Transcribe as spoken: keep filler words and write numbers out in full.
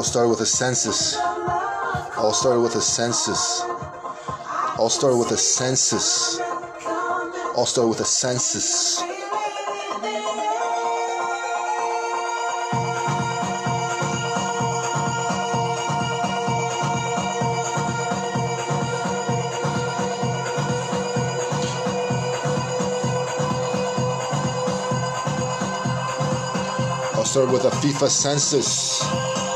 All started with a census. All started with a census. All started with a census. All started with a census. All started with a FIFA census.